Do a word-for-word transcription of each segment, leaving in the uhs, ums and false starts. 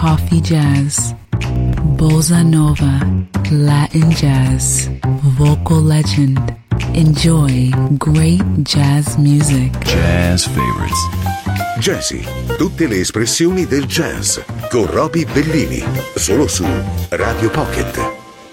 coffee jazz, bossa nova, Latin jazz, vocal legend. Enjoy great jazz music. Jazz favorites. Jazzy, tutte le espressioni del jazz con Roby Bellini, solo su Radio Pocket.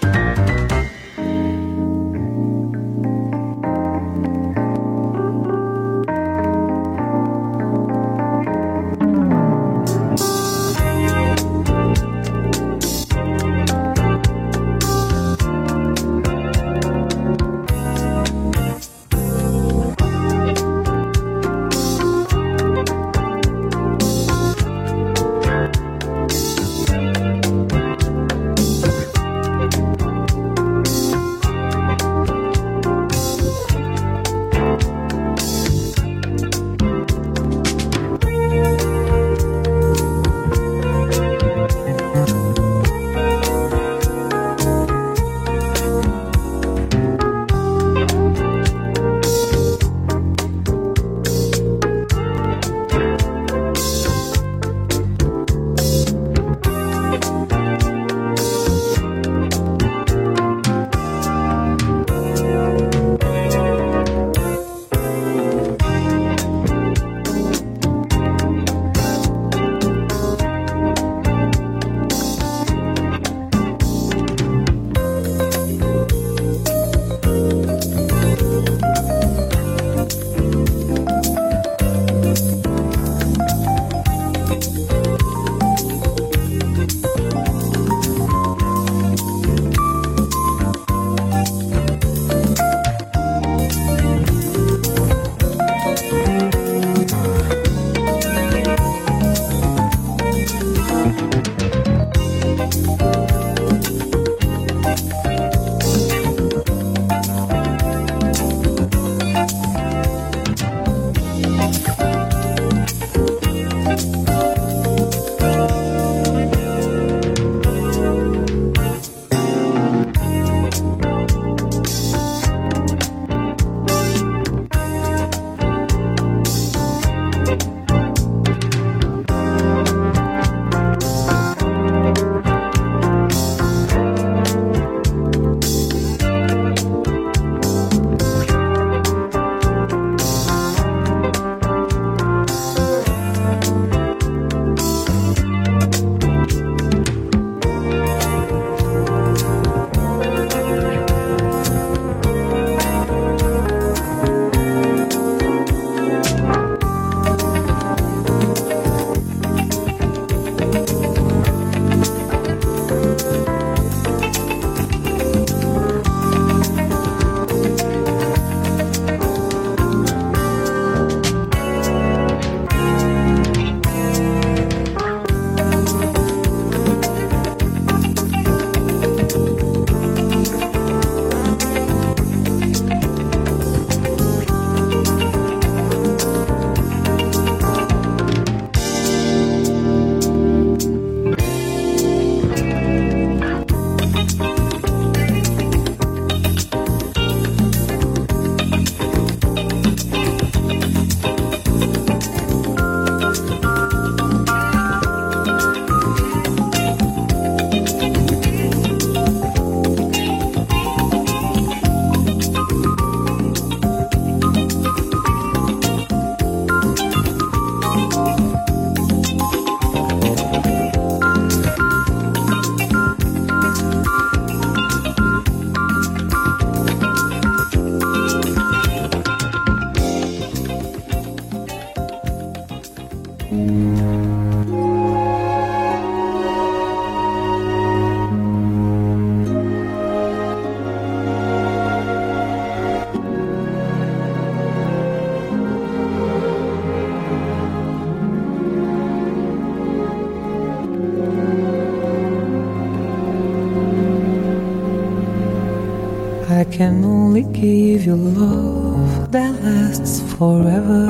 I can only give you love that lasts forever,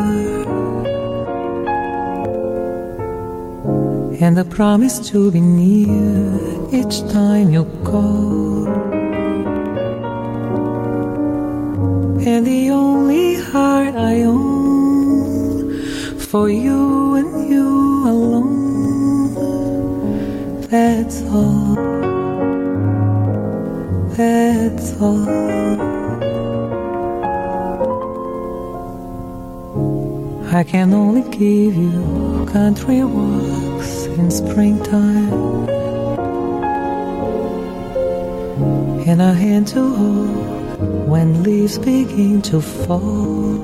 and a promise to be near each time you call. And the only heart I own for you and you alone That's all. That's all. I can only give you country walks in springtime and a hand to hold when leaves begin to fall,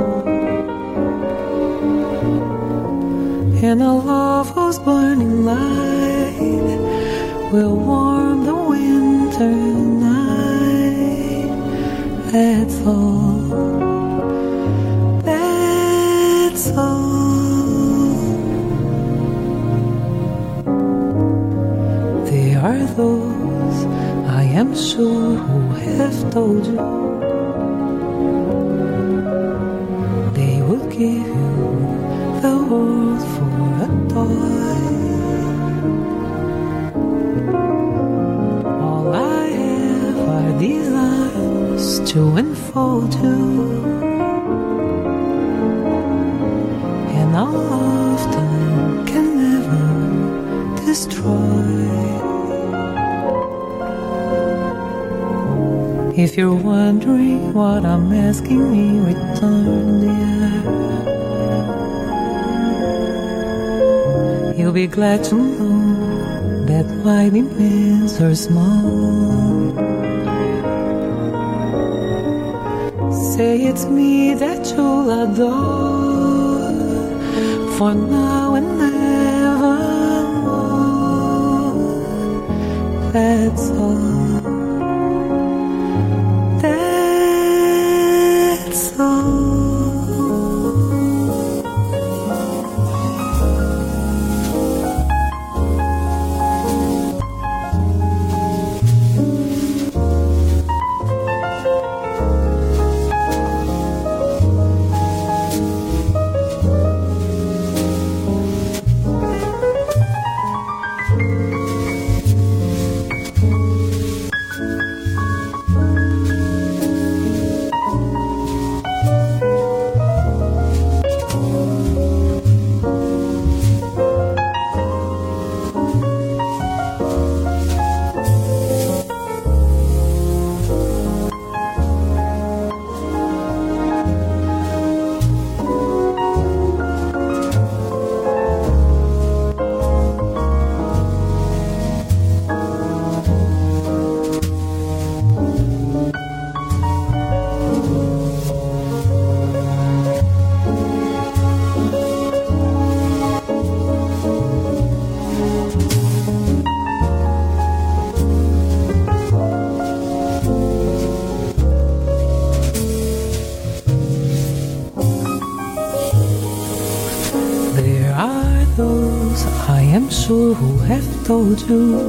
and a love whose burning light will warm the winter night. That's all. That's all. There are those, I am sure, who have told you they would give you the world for a toy. All I have are these arms to enfold you, and all of time can never destroy. If you're wondering what I'm asking me, return the air. You'll be glad to know that my demands are small. Say it's me that you'll adore, for now and nevermore. That's all. That's all. Sure, who have told you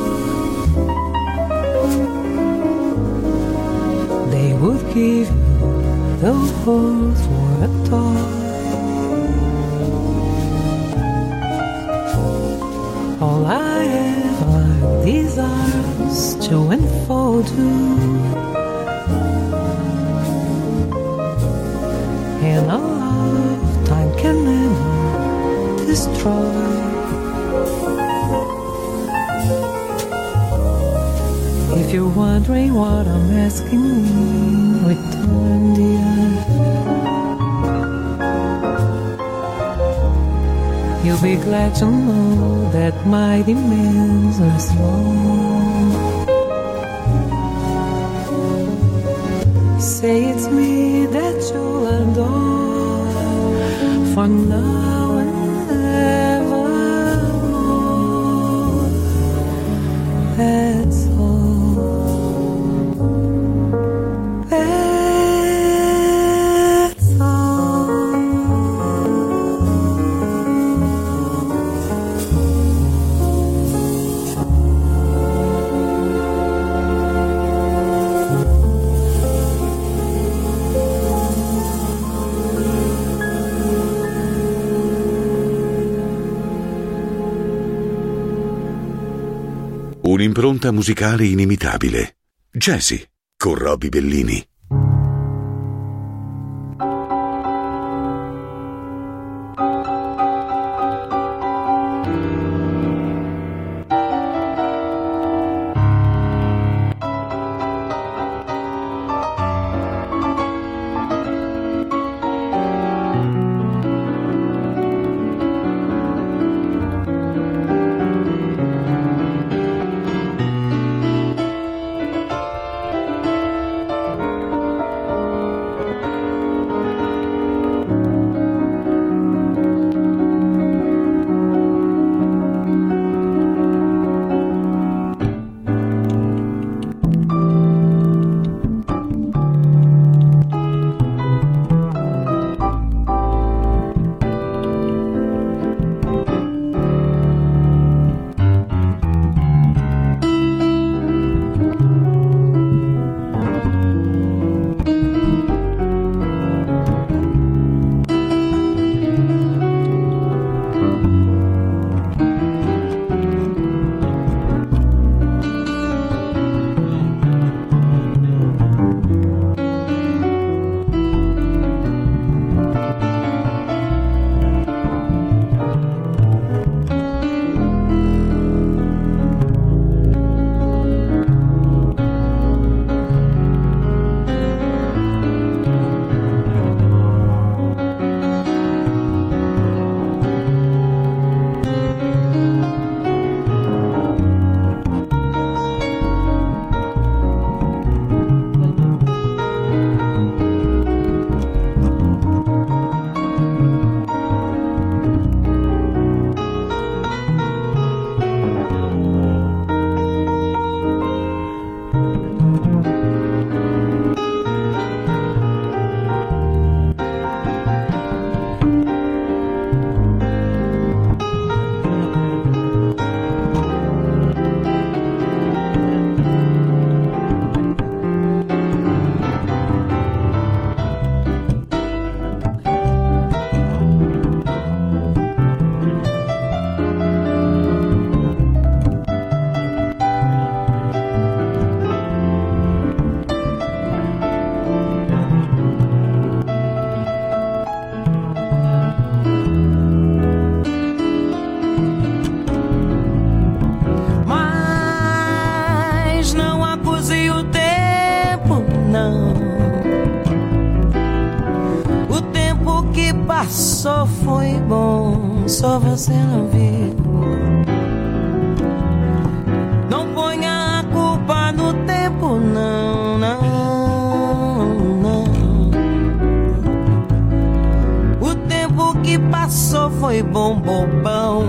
they would give you the world for a toy. All I have are these arms to enfold you, and a lifetime can never destroy. If you're wondering what I'm asking, return the air. You'll be glad to know that my demands are small. Say it's me that you'll adore, for now and evermore. That's all. Un'impronta musicale inimitabile. Jazzy con Roby Bellini. passou foi bom, só você não viu. Não ponha a culpa no tempo, não, não, não. O tempo que passou foi bom, bobão.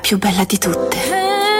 più bella di tutte.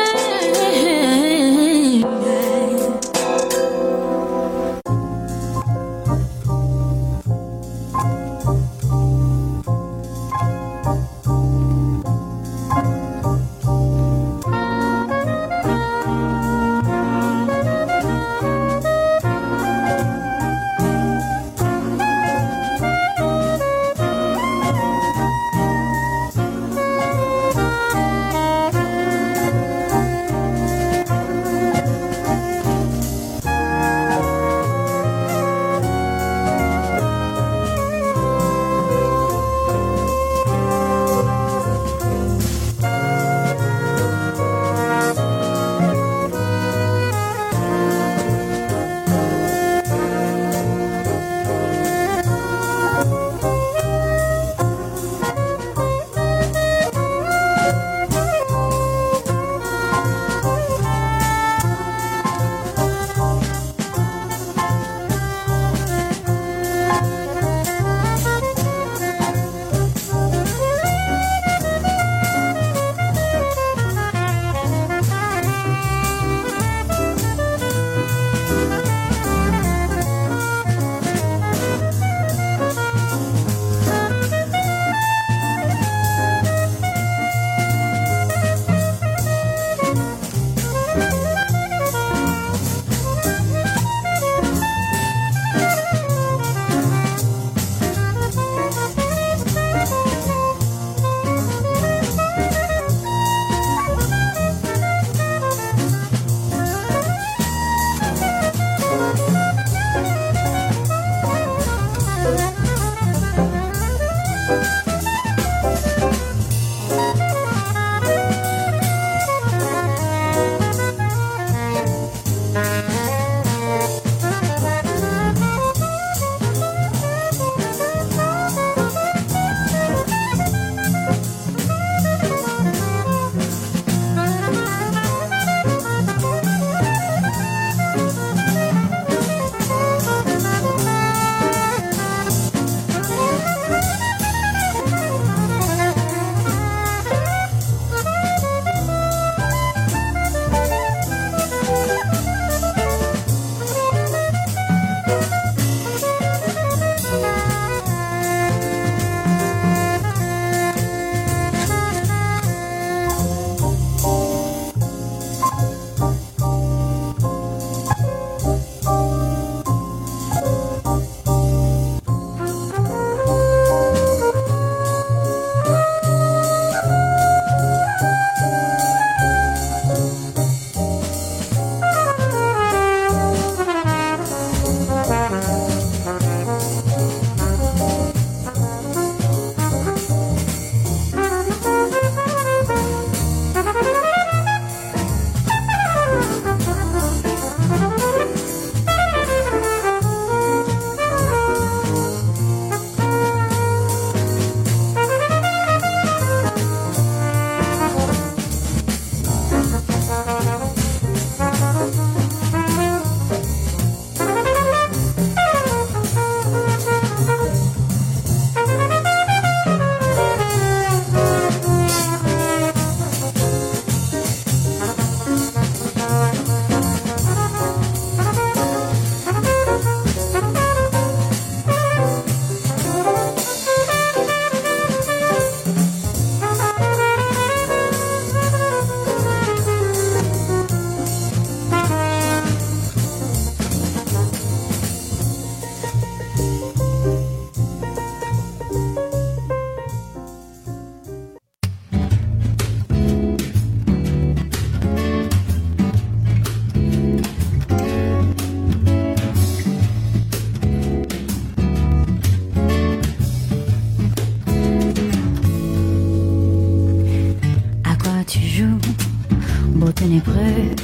ténébreux,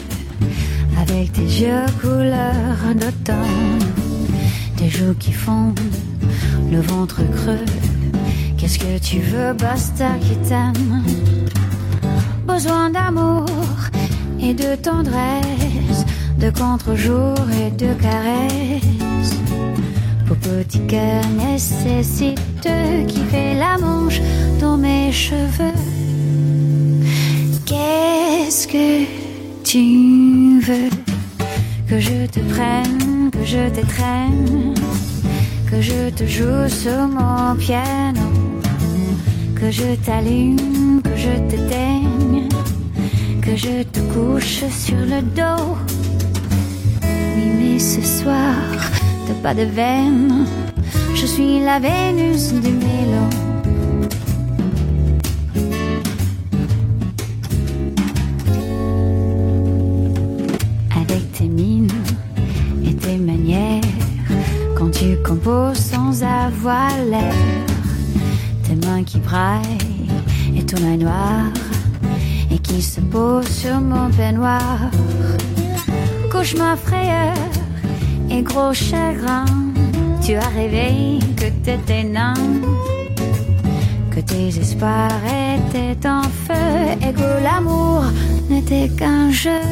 avec tes yeux couleur d'automne, tes joues qui fondent, le ventre creux. Qu'est-ce que tu veux, basta qui t'aime. Besoin d'amour et de tendresse, de contre-jour et de caresses. Pour petit cœur nécessiteux qui fait la manche dans mes cheveux. Qu'est-ce que tu veux? Que je te prenne, que je t'étreigne, que je te joue sur mon piano, que je t'allume, que je t'éteigne, que je te couche sur le dos. Oui, mais ce soir, t'as pas de veine, je suis la Vénus du mélo. Avec tes mines et tes manières, quand tu composes sans avoir l'air, tes mains qui braillent et ton œil noir et qui se pose sur mon peignoir. Cauchemar, frayeur et gros chagrin, tu as rêvé que t'étais nain, que tes espoirs étaient en feu et que l'amour n'était qu'un jeu.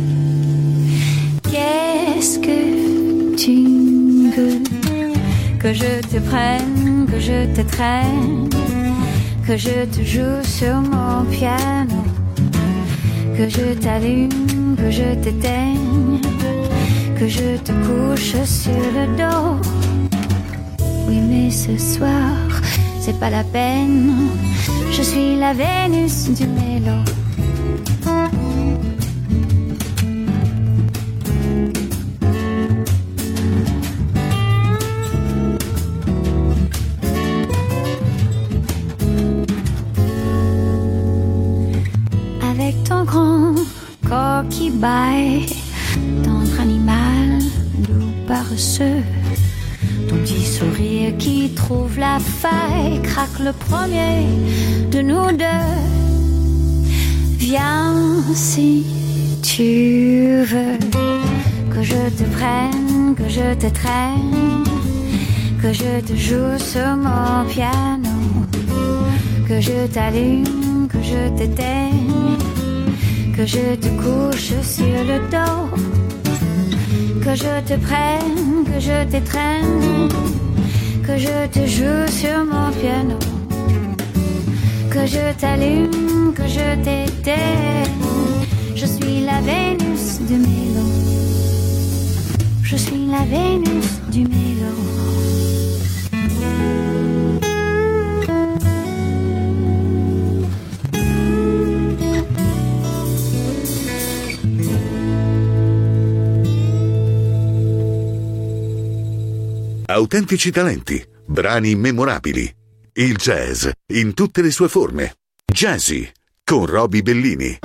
Qu'est-ce que tu veux? Que je te prenne, que je te traîne, que je te joue sur mon piano, que je t'allume, que je t'éteigne, que je te couche sur le dos. Oui, mais ce soir, c'est pas la peine, je suis la Vénus du mélo. Avec ton grand corps qui baille, tendre animal, doux paresseux, ton petit sourire qui trouve la faille, craque le premier de nous deux. Viens si tu veux, que je te prenne, que je te traîne, que je te joue sur mon piano, que je t'allume, que je t'éteigne, que je te couche sur le dos, que je te prenne, que je t'étreigne, que je te joue sur mon piano, que je t'allume, que je t'éteigne. Je suis la Vénus du mélo. Je suis la Vénus du mélo. Autentici talenti, brani immemorabili. Il jazz in tutte le sue forme. Jazzy con Roby Bellini.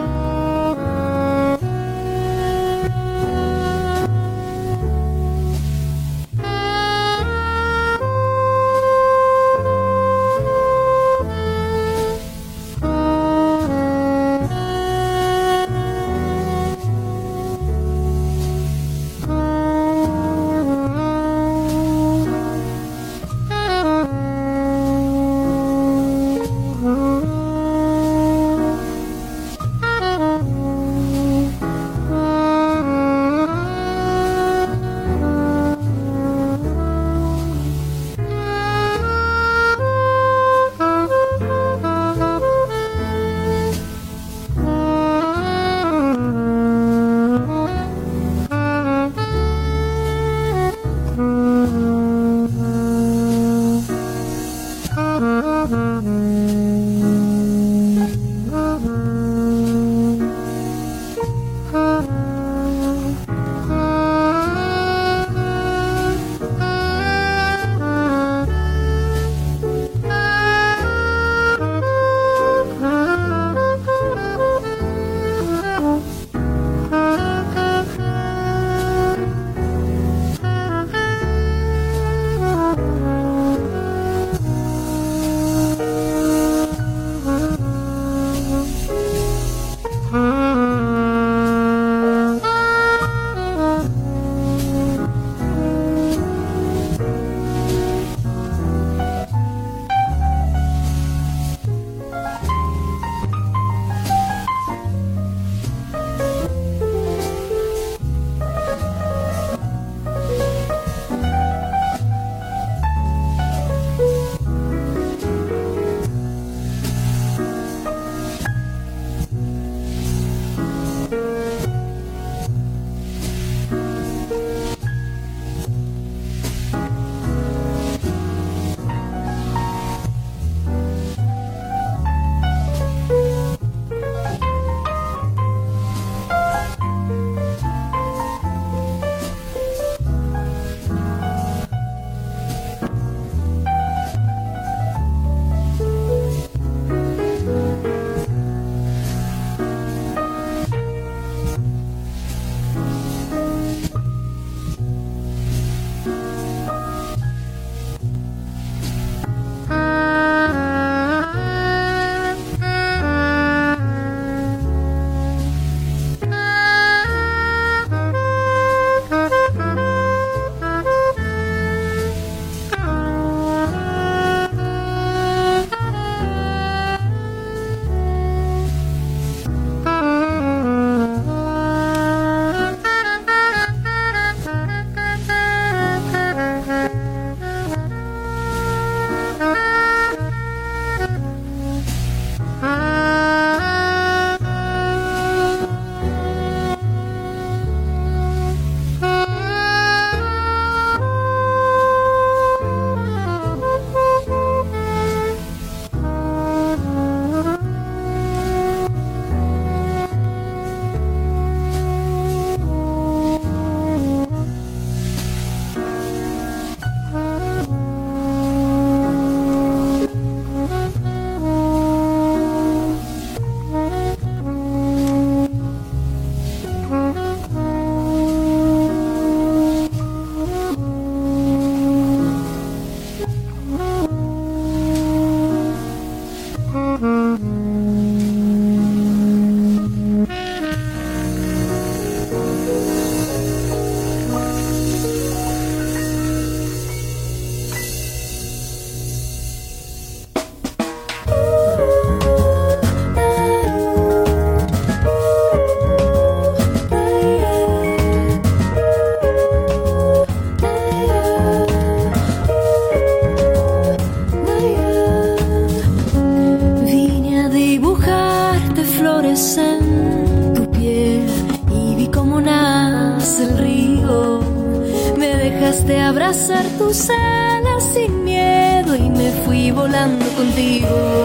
Llegaste a abrazar tus alas sin miedo y me fui volando contigo.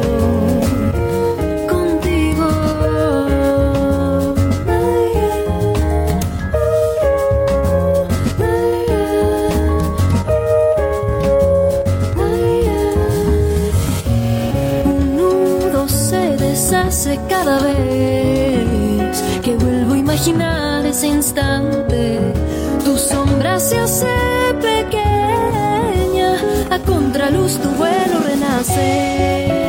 Contigo. Un nudo se deshace cada vez que vuelvo a imaginar ese instante. Tu sombra se hace pequeña, a contraluz tu vuelo renace.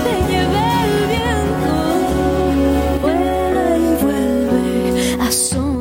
So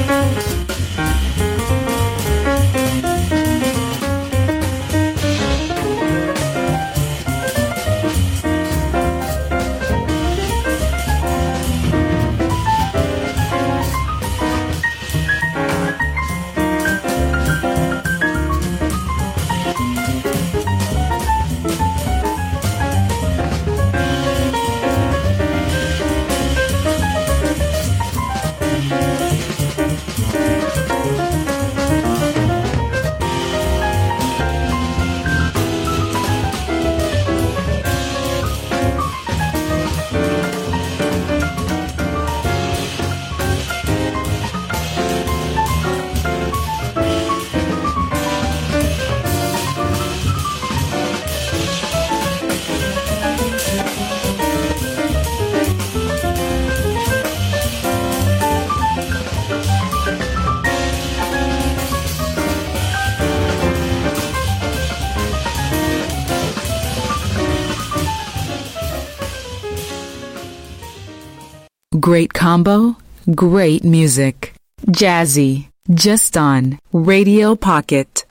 Great combo, great music. Jazzy, just on Radio Pocket.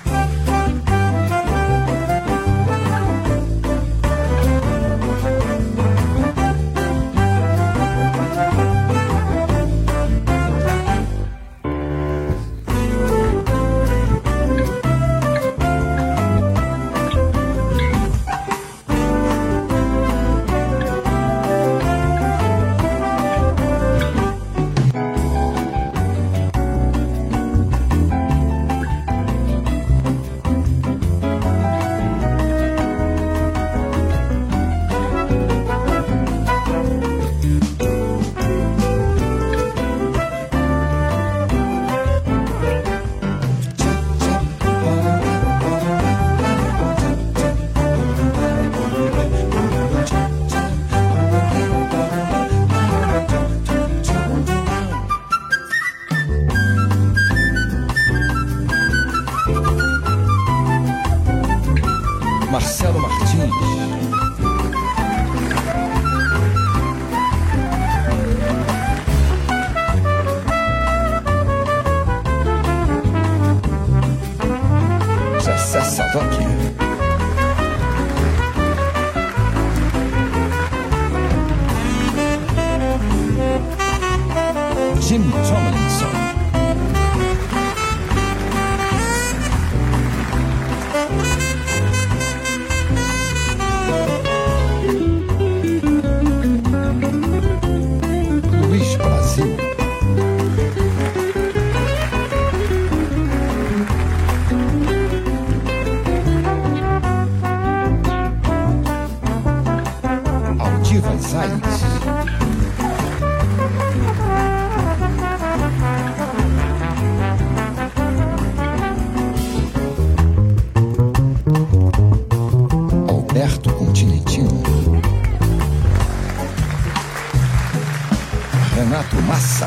Marcelo Martins, Zé Sadoki, Jim Tomlinson, Luiz Brasil, Aldivas Aires, Alberto Continentino, Renato Massa,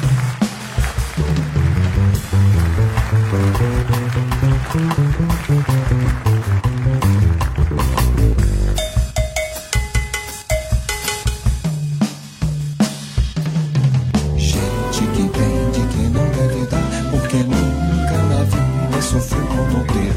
gente que entende que não deve dar, porque nunca na vida sofreu com não ter.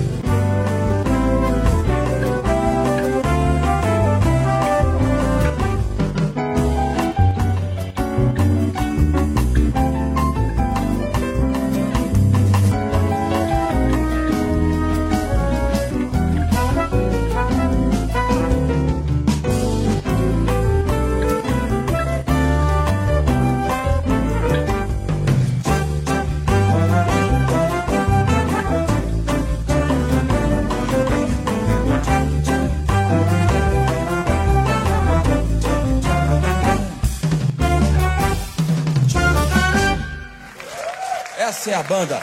Essa é a banda.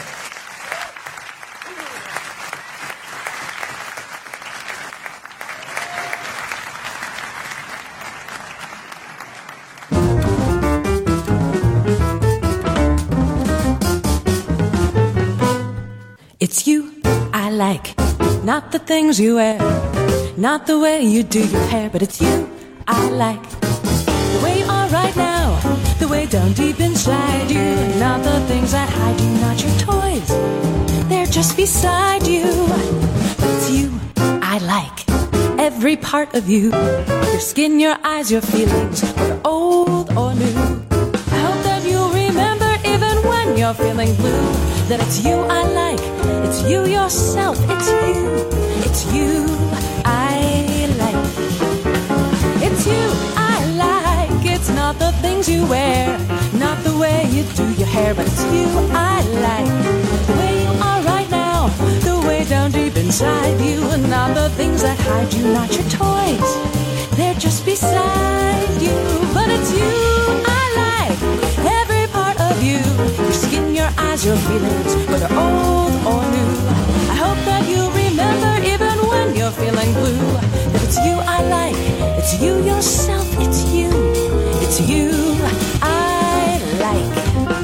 It's you I like, not the things you wear, not the way you do your hair, but it's you I like. The way you are right now, the way down deep inside you. Not the things that hide you, not your toys, they're just beside you. But it's you I like, every part of you. Your skin, your eyes, your feelings, whether old or new. I hope that you'll remember, even when you're feeling blue, that it's you I like, it's you yourself, it's you, it's you I like. It's you I like, it's not the things you wear, not the way you do your hair, but it's you I like, the way you are right now, the way down deep inside you, and not the things that hide you, not your toys, they're just beside you. But it's you I like, every part of you, your skin, your eyes, your feelings, whether old or new. I hope that you'll remember, even when you're feeling blue, that it's you I like, it's you yourself, it's you, it's you I like.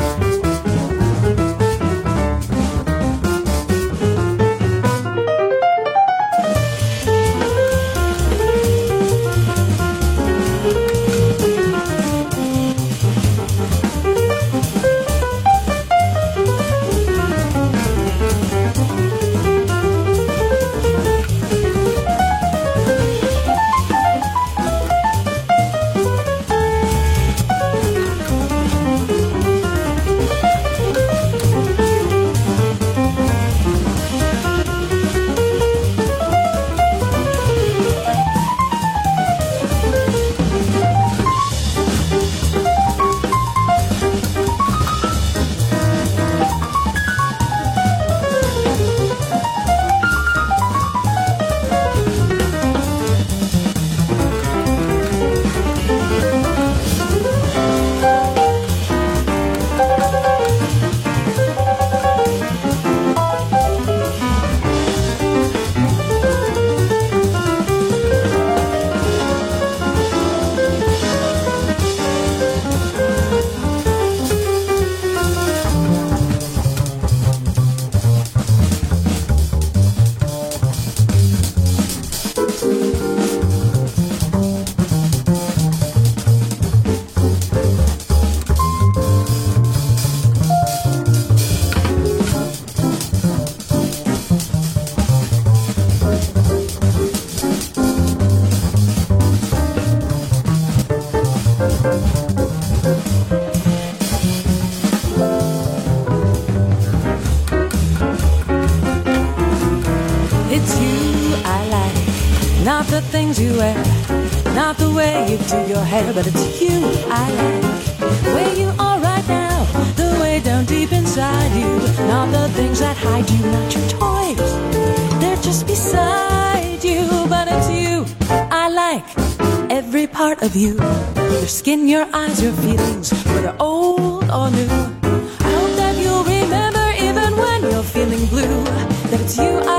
Do your hair, but it's you I like, the way you are right now, the way down deep inside you, not the things that hide you, not your toys, they're just beside you. But it's you I like, every part of you, your skin, your eyes, your feelings, whether old or new. I hope that you'll remember, even when you're feeling blue, that it's you I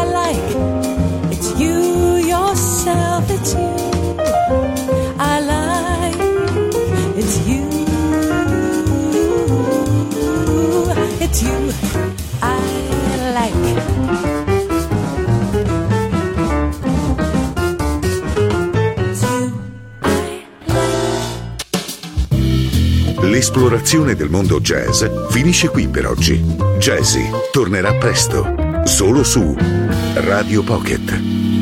like, it's you yourself, it's you I like, it's you, it's you I like. It's you I like. L'esplorazione del mondo jazz finisce qui per oggi. Jazzy tornerà presto, solo su Radio Pocket.